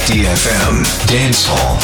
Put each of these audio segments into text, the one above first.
DFM Dance Hall.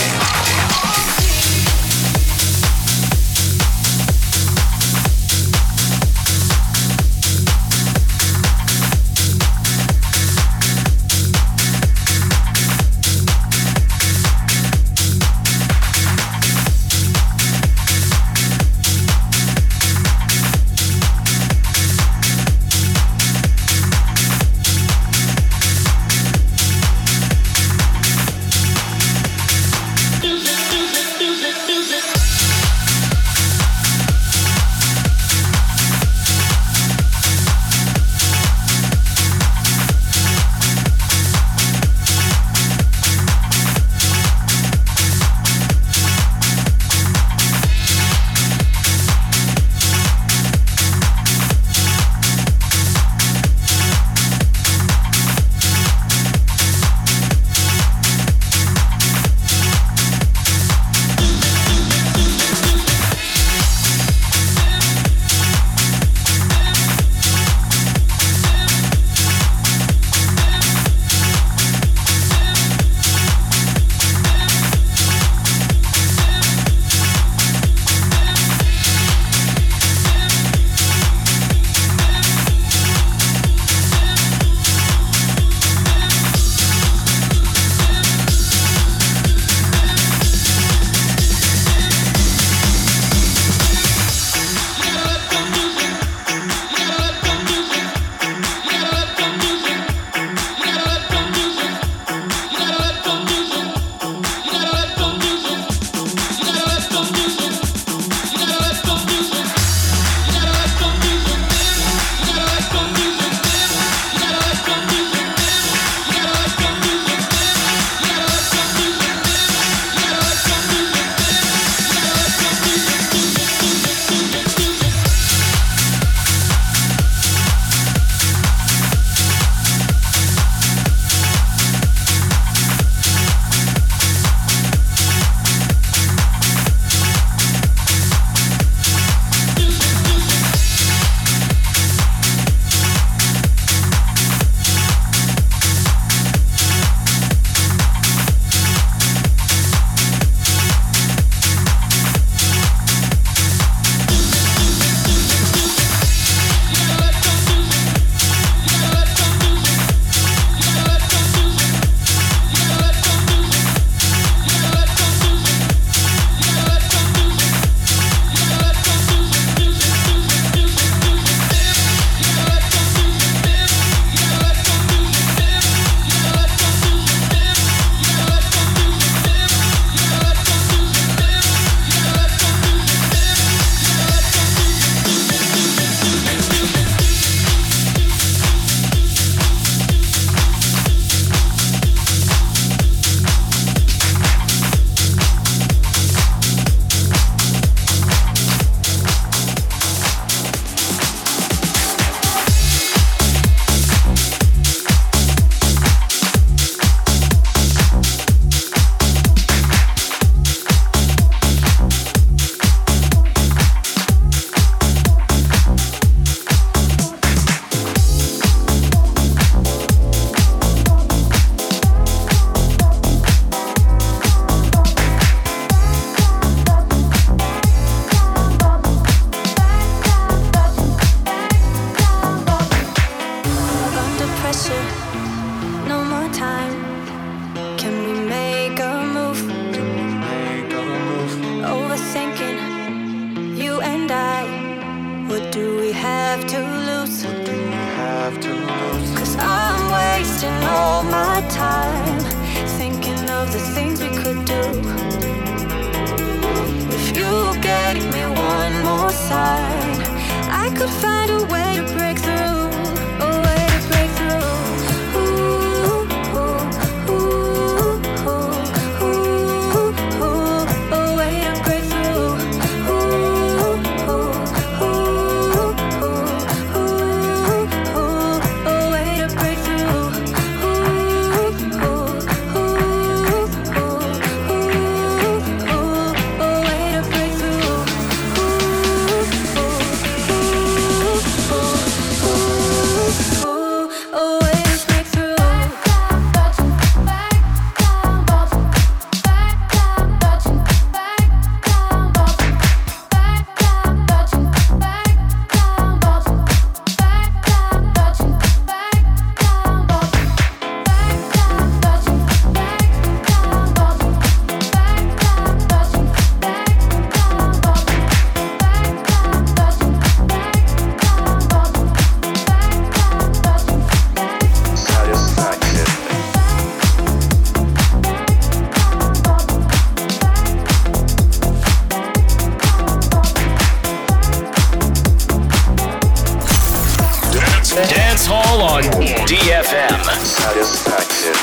FM. Satisfaction.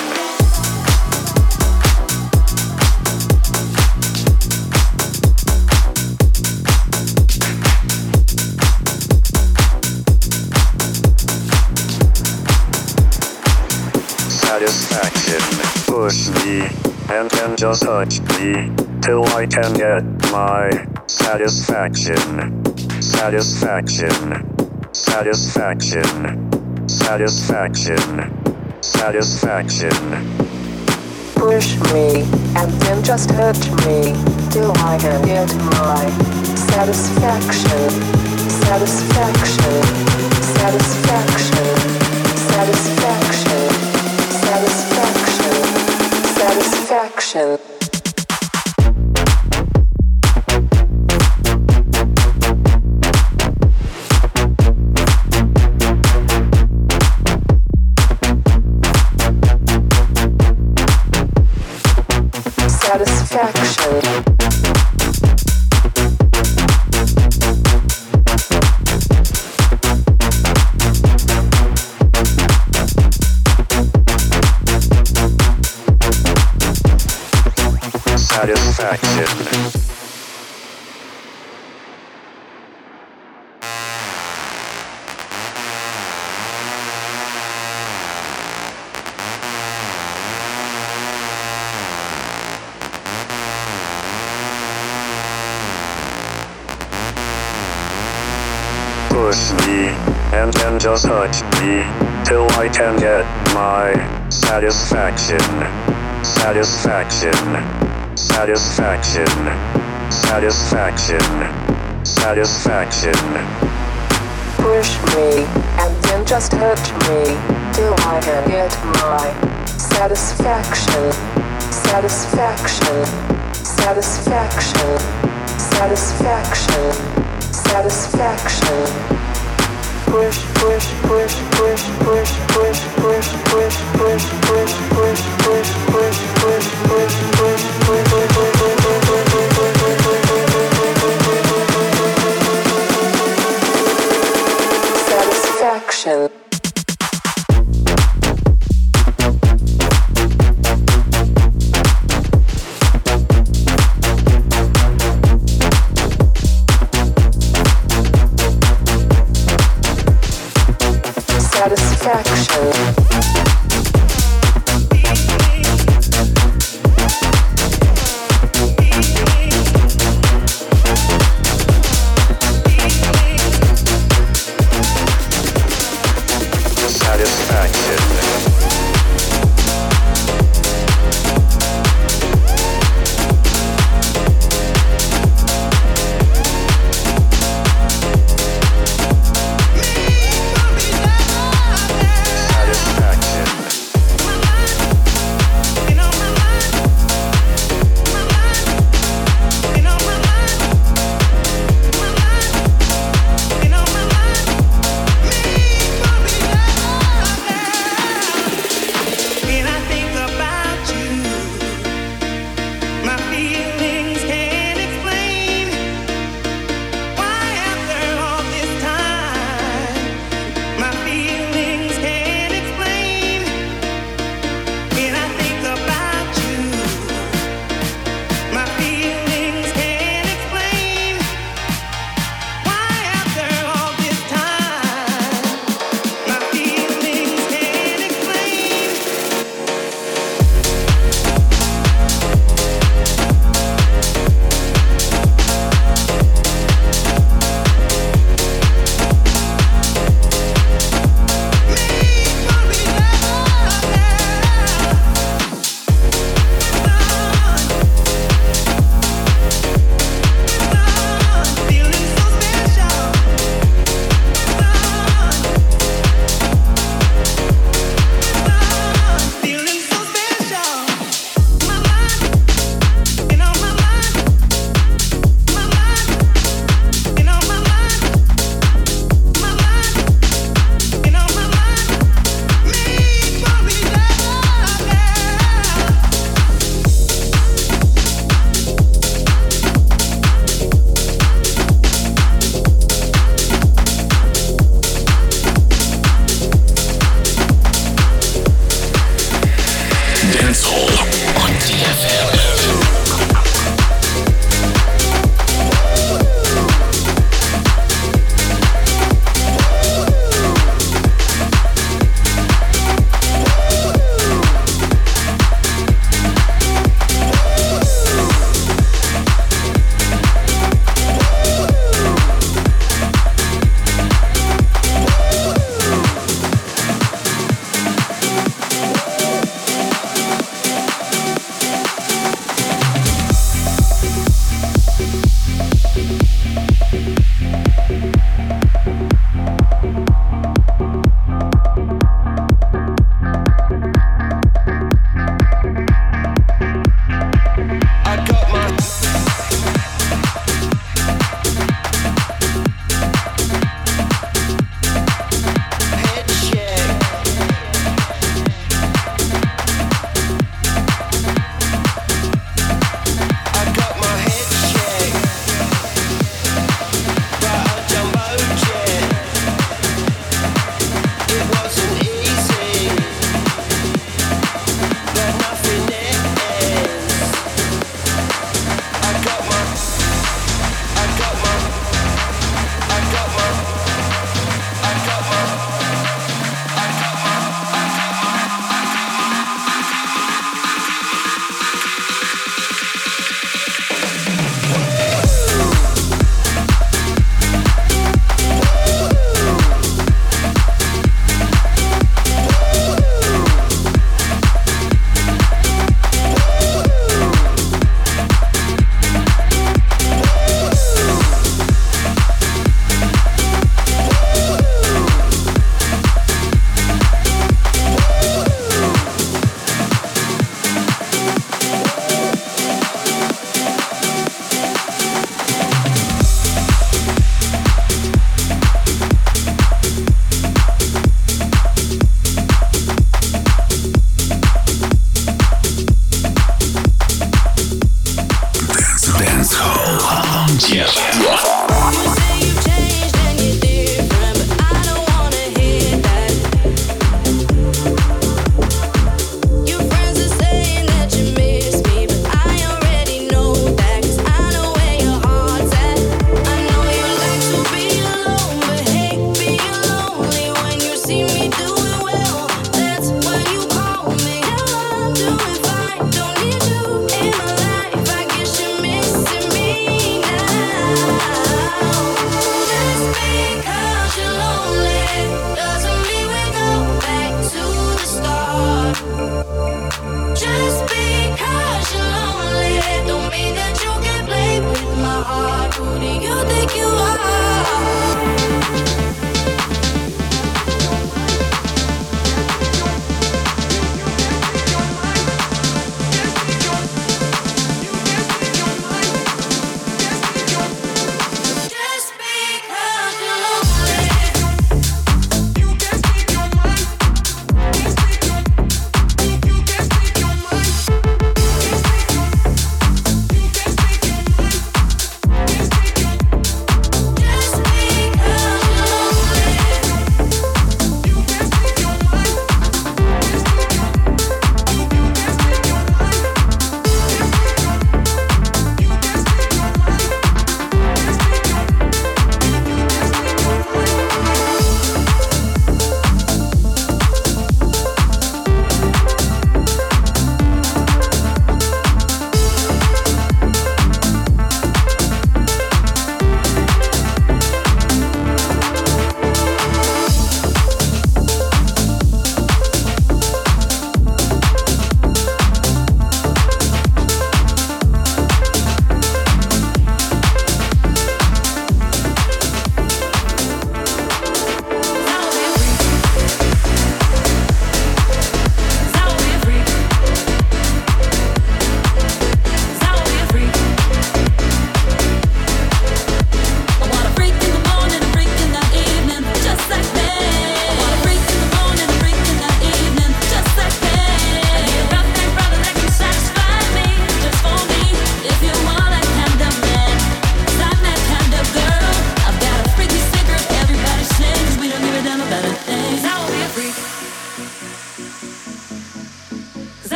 Satisfaction. Push me, and then just touch me, till I can get my satisfaction. Satisfaction. Satisfaction. Satisfaction. Satisfaction. Push me, and then just touch me, till I can get my satisfaction. Satisfaction. Satisfaction. Satisfaction. Satisfaction. Satisfaction. Satisfaction. Push me, and then just touch me, till I can get my satisfaction. Satisfaction. Satisfaction. Satisfaction. Satisfaction. Push me, and then just touch me, till I can get my satisfaction. Satisfaction. Satisfaction. Satisfaction. Satisfaction. Push, push, push, push, push, push, push, push, push, push, push, push, push, push, push, push, satisfaction. Satisfaction.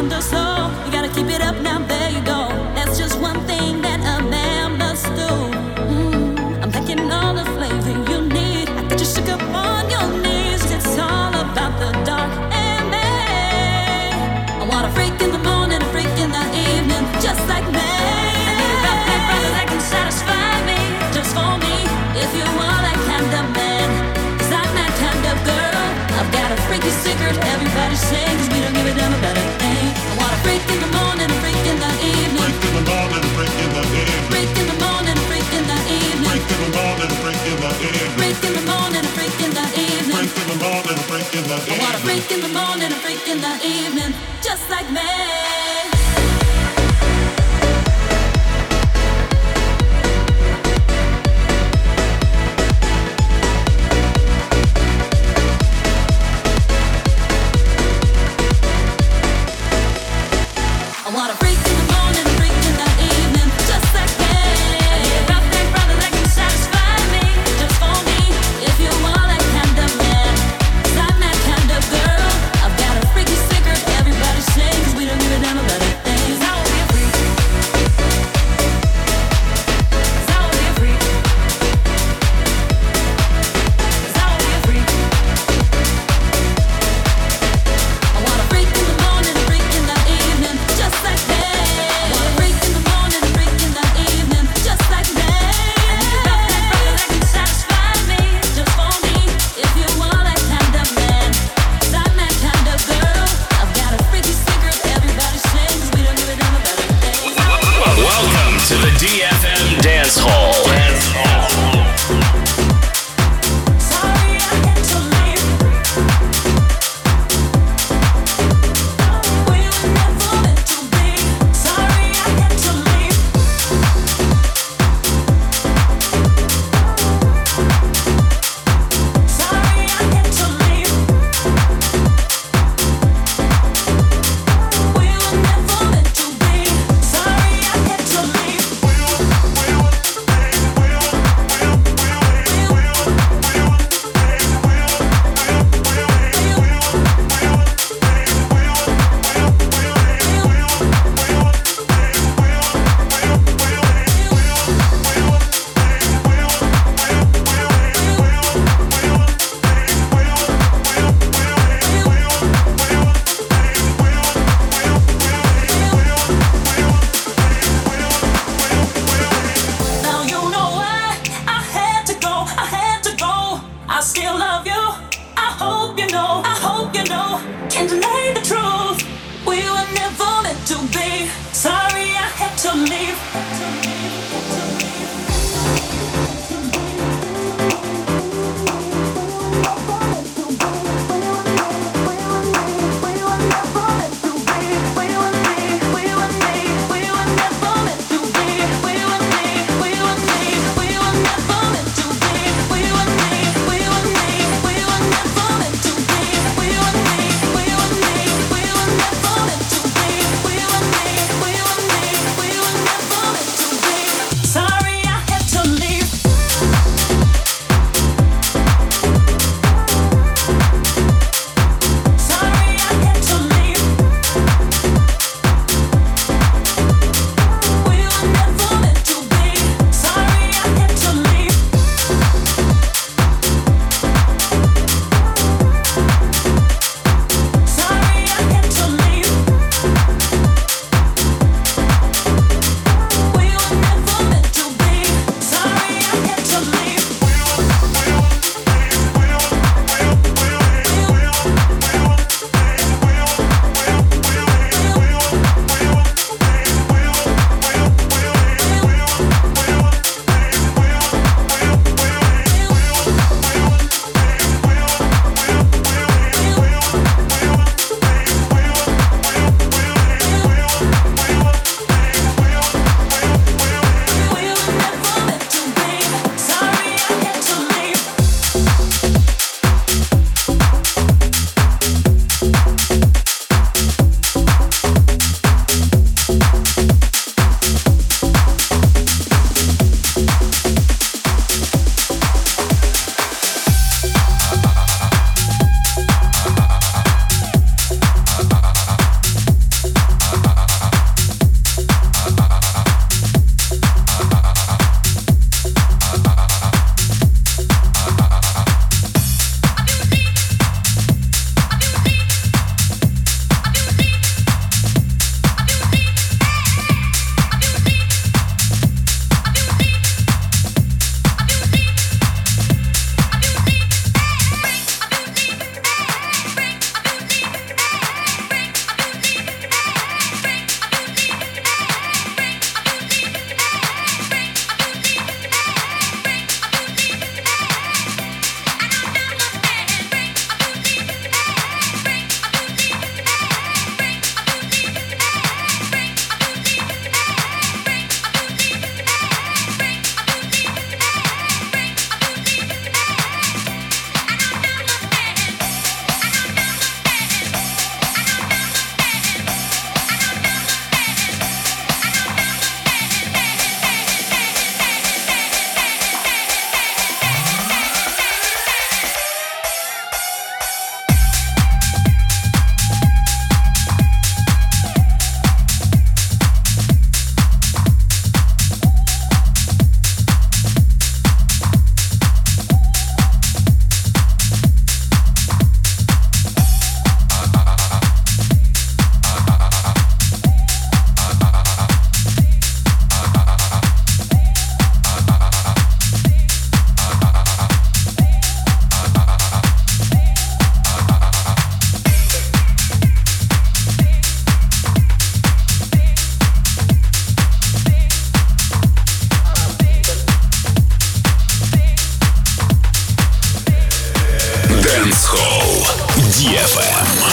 kinda slow. You gotta keep it up now, there you go. That's just one thing that a man must do. I'm thinking all the flavor you need. I get you shook up on your knees. It's all about the dark and me. I want a freak in the morning, a freak in the evening, just like me. I need a rough big brother that can satisfy me, just for me. If you are that kind of man, 'cause I'm that kind of girl. I've got a freaky secret, everybody sings. We don't give a damn about a thing. I want a freak in the morning, a freak in the evening. Freak in the morning, freak in the evening. Freak in the morning, freak in the evening. Freak in the morning, freak in the evening. Freak in the morning, freak in the evening. Freak in the morning, freak in the evening. I want a freak in the morning, a freak in the evening, just like me. I want a freak in the morning, a freak in the evening, just like me. I need a rough big brother that can satisfy me, just for me. If you are that kind of man, 'cause I'm that kind of girl. I've got a freaky secret, everybody sings. We don't give a damn about a thing. 'Cause I will be a freak. 'Cause I will be a freak. 'Cause I will be a freak. I want a freak in the morning, a freak in the evening, just like me. I want a freak in the morning, a freak in the evening, just like me. I need a rough big brother that can satisfy me, just for me. If you are that kind of man, 'cause I'm that kind of girl. I've got a freaky secret, everybody sings. We don't give a damn about a thing. Welcome to the DFM Dance Hall. Sorry I had to leave. We were never meant to be. Sorry I had to leave. Sorry I had to leave. We were never meant to be. Sorry I had to leave. Now you know why I had to go, I had to go. I still love you, I hope you know, I hope you know. Can't deny the truth, we were never meant to be. Sorry I had to leave. To be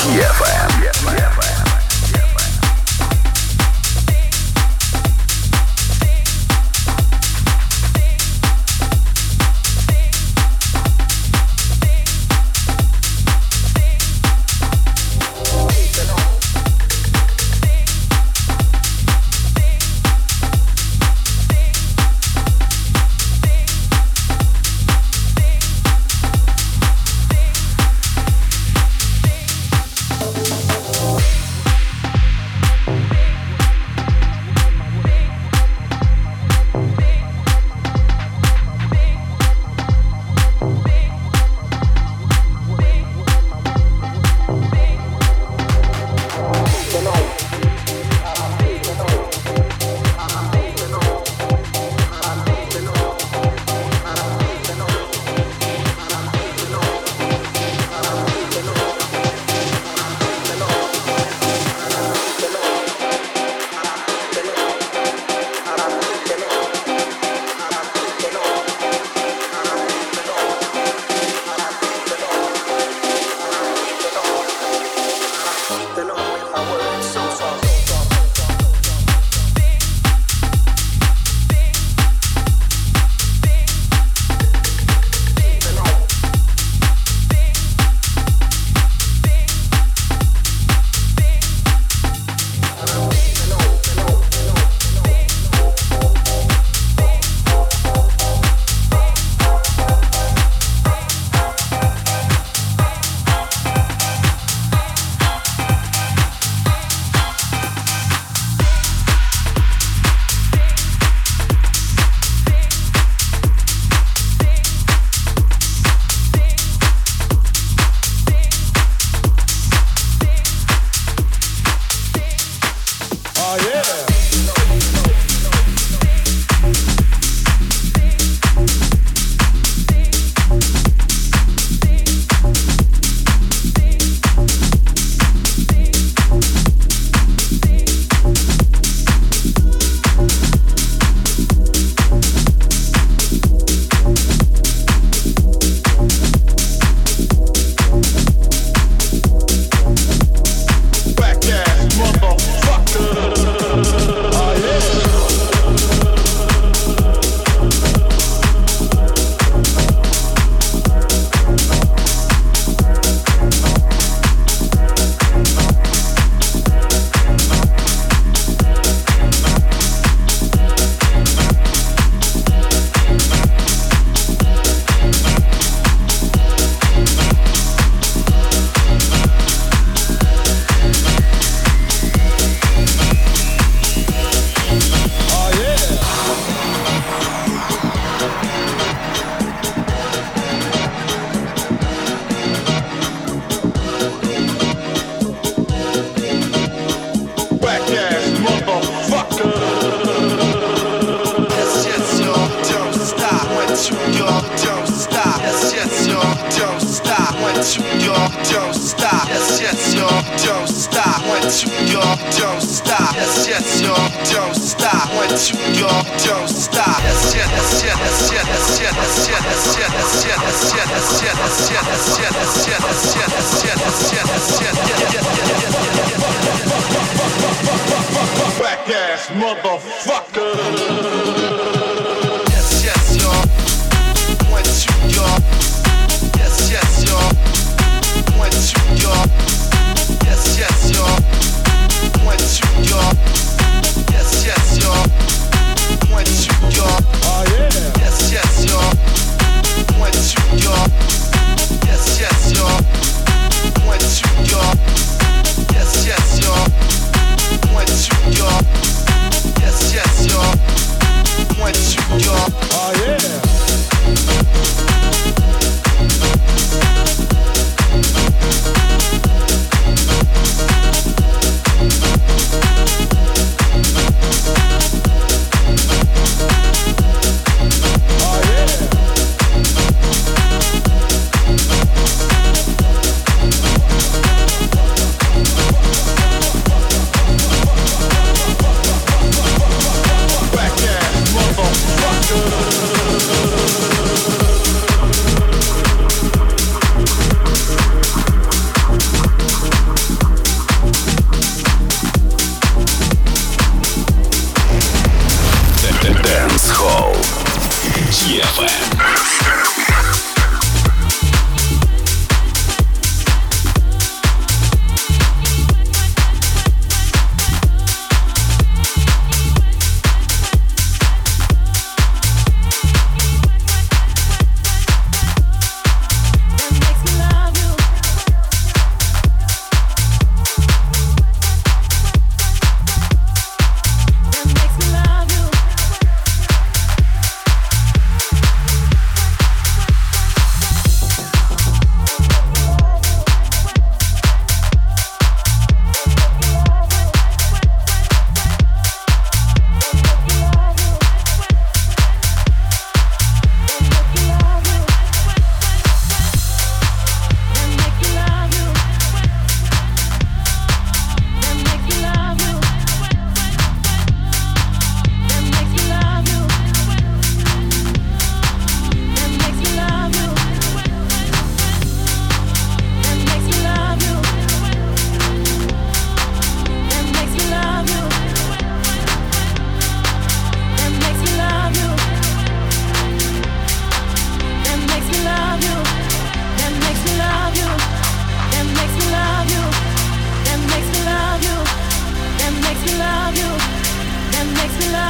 DFM.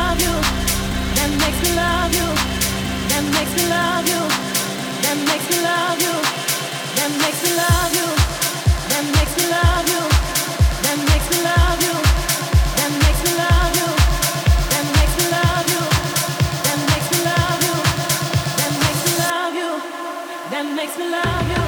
love you. That makes me love you. That makes me love you. That makes me love you. That makes me love you. That makes me love you. That makes me love you. That makes me love you. That makes me love you. That makes me love you. That makes me love you. That makes me love you.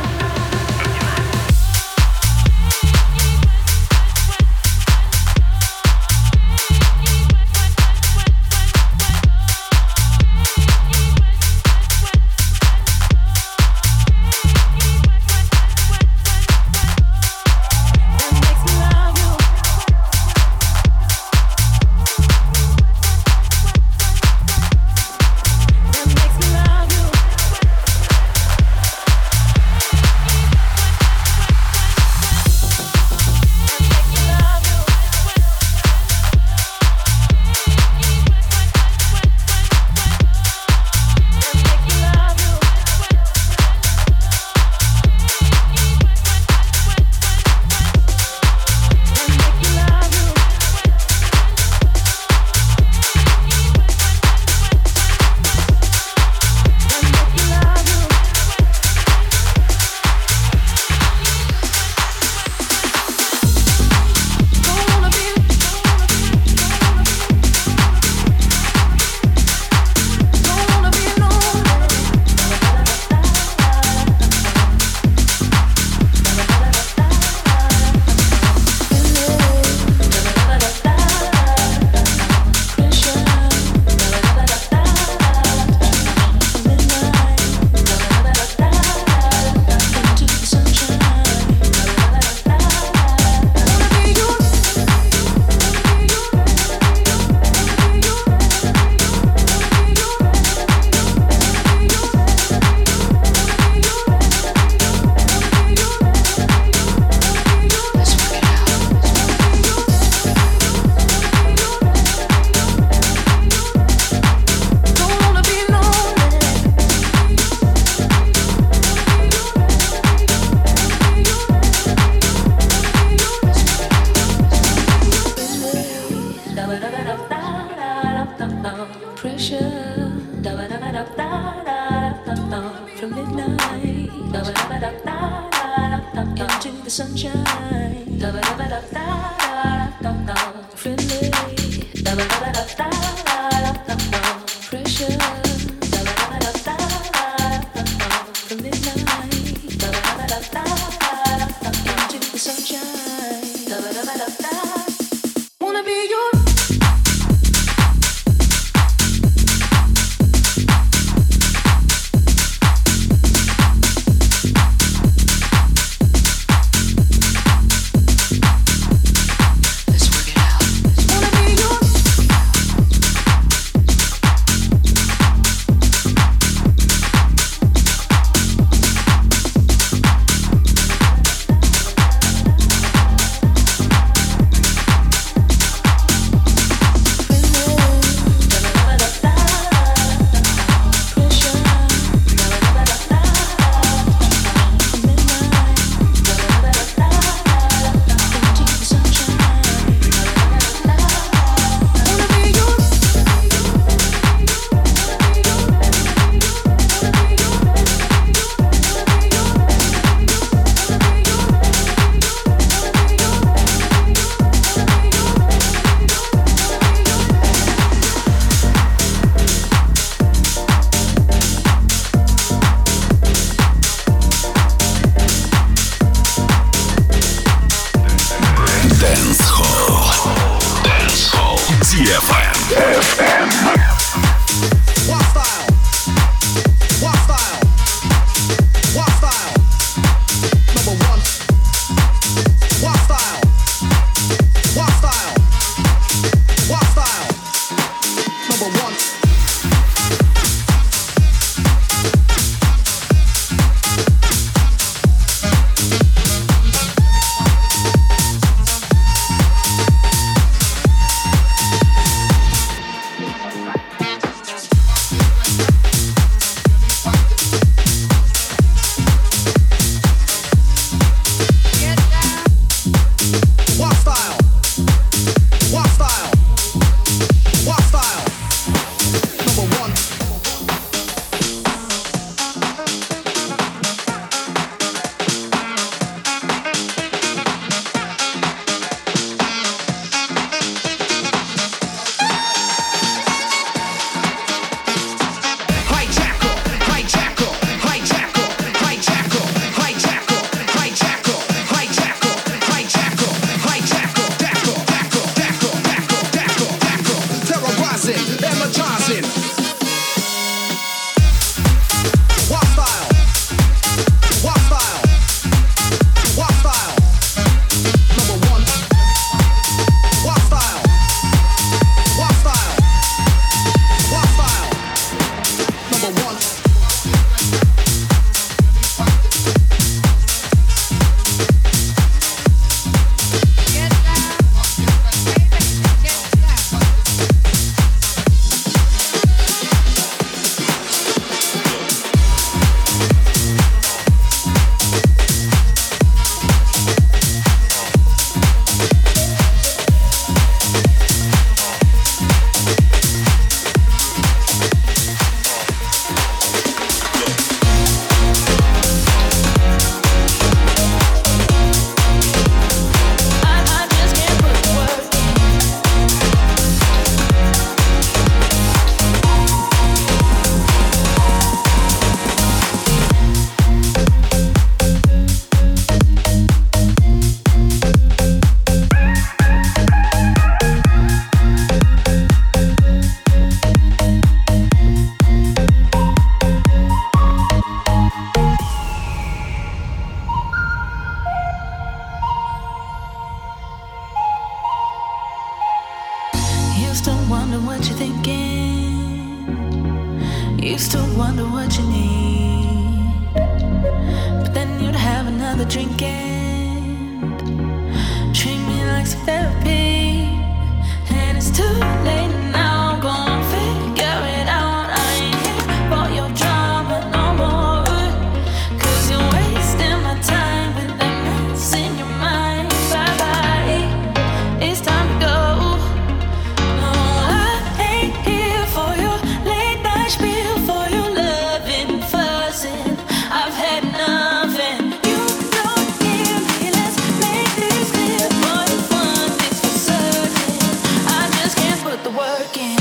Used to wonder what you need, but then you'd have another drink and treat me like some therapy. And it's too late now, I'm gonna figure it out. I ain't here for your drama no more, 'cause you're wasting my time with that mess in your mind. Bye bye, it's time to go. No, I ain't here for your late night spiel, for your loving, fussing. I've had nothing. You don't hear me, let's make this clear. Boy, one thing's for certain, I just can't put the work in.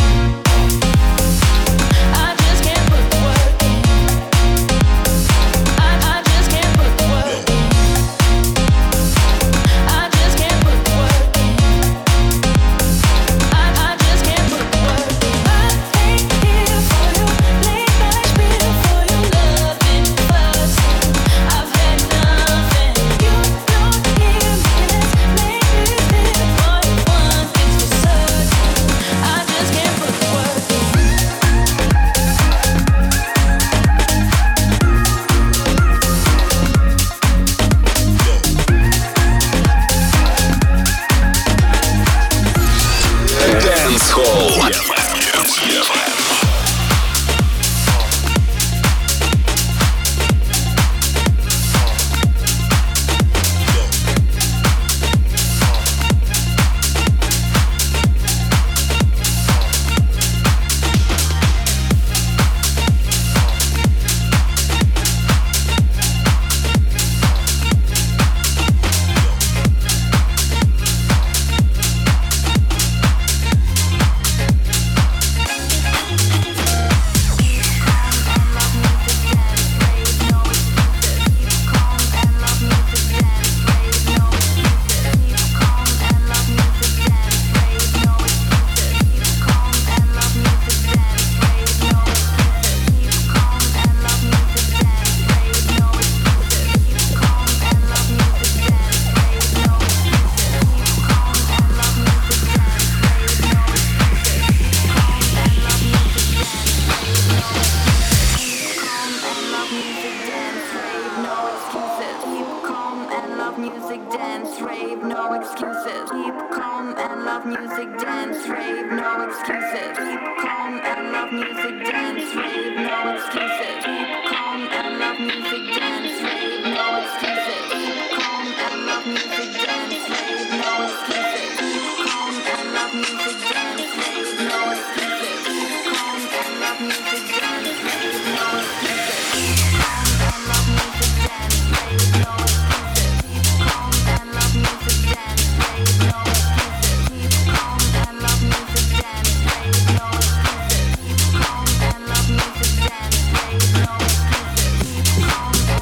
I just can't put the work in. I just can't put the work in. I just can't put the work in. I just can't put the work in. I ain't here for your late night spiel, for your loving, fussing. I've had nothing. You don't hear me, let's make this clear. Boy, one thing's for certain, I just can't put the work in. Dance Hall. Music, dance, rave, no excuses. Keep calm and love music, dance, rave, no excuses. Keep calm and love music, dance, rave, no excuses. Keep calm and love music, dance, rave, no excuses. Keep calm and love music, dance, rave, no excuses. Keep calm and love music, dance, rave, no excuses. Keep calm and love music, dance, rave, no excuses. Keep calm and love music, dance, rave, no excuses. Calm and love music, dance, rave, no excuses. Keep calm and love music, dance, rave, no excuses. Keep calm and love music, dance, rave, no excuses. Keep calm and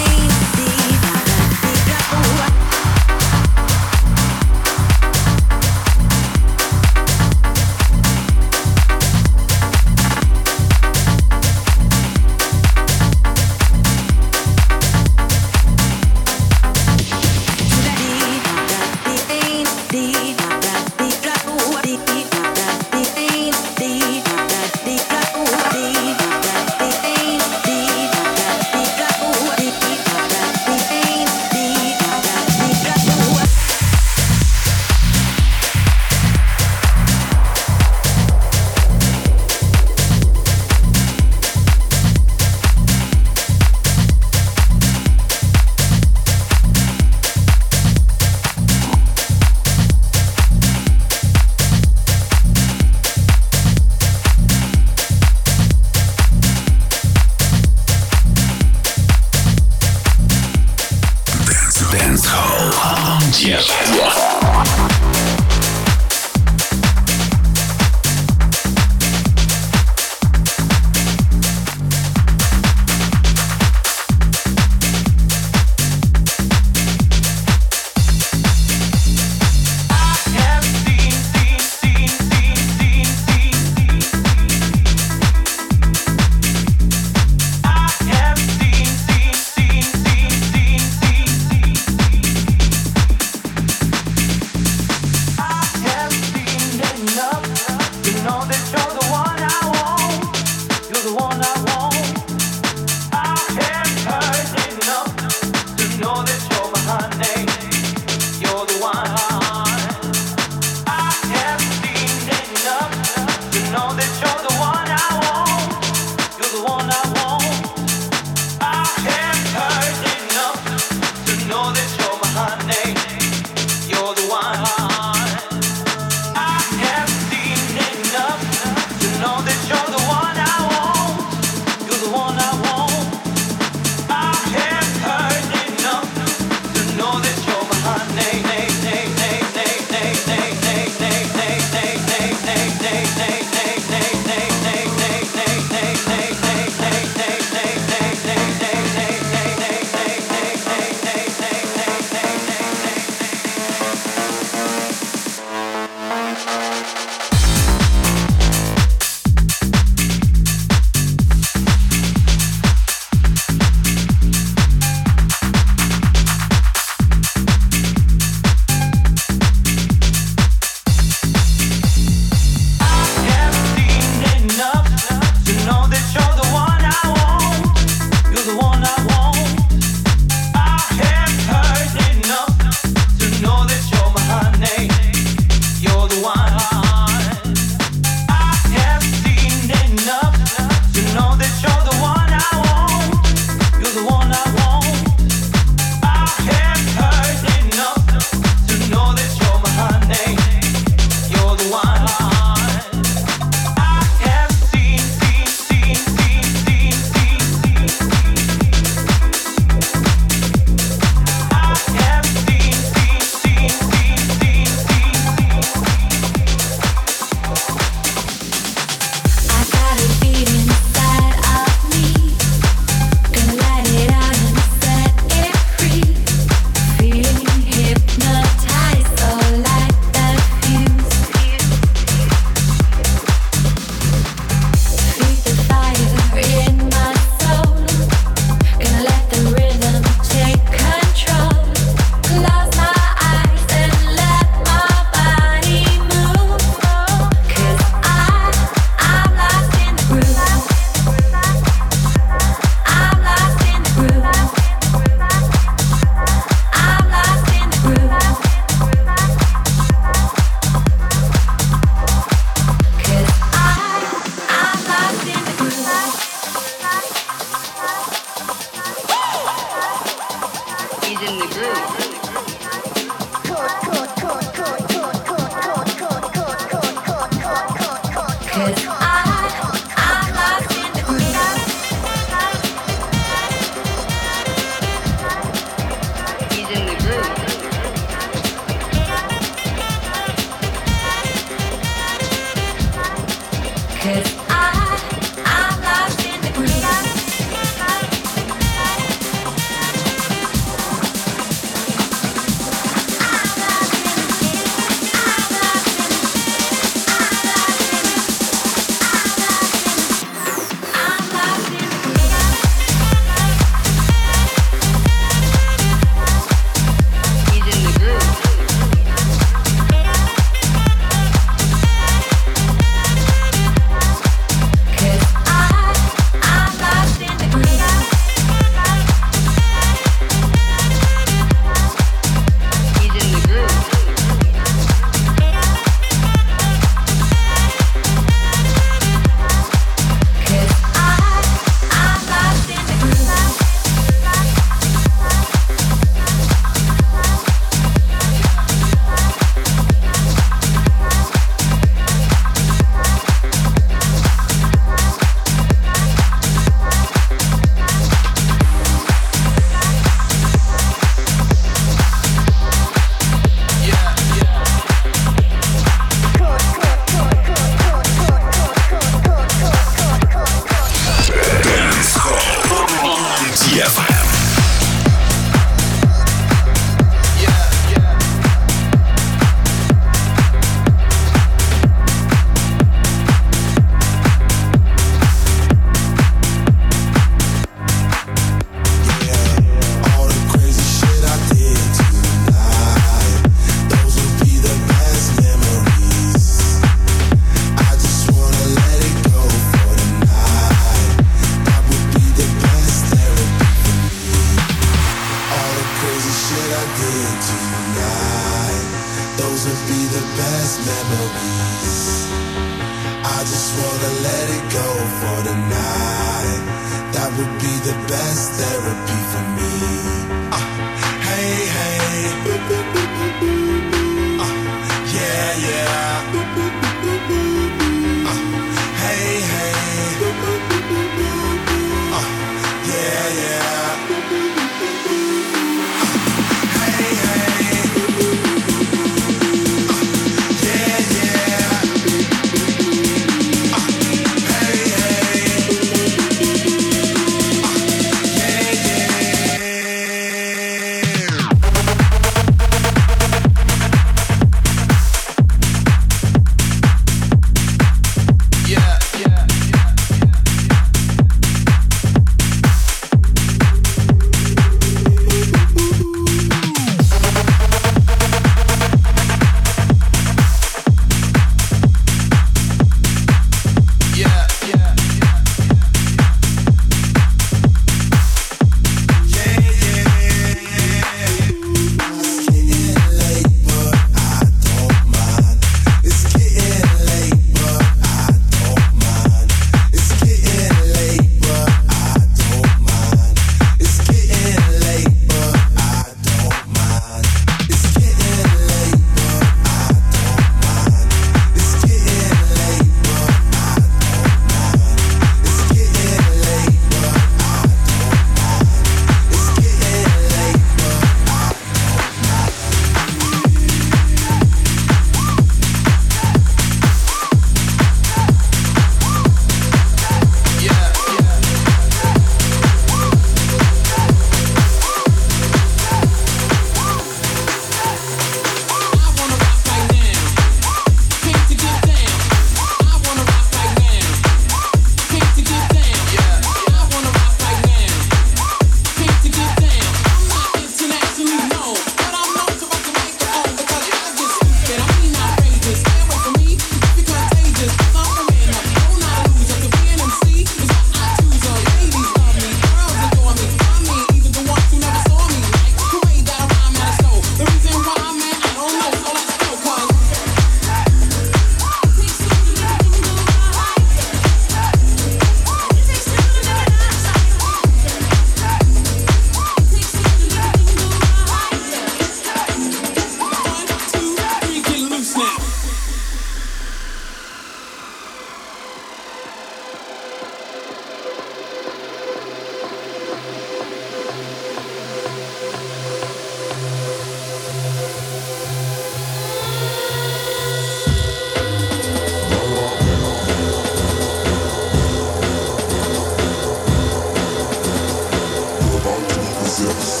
Yes.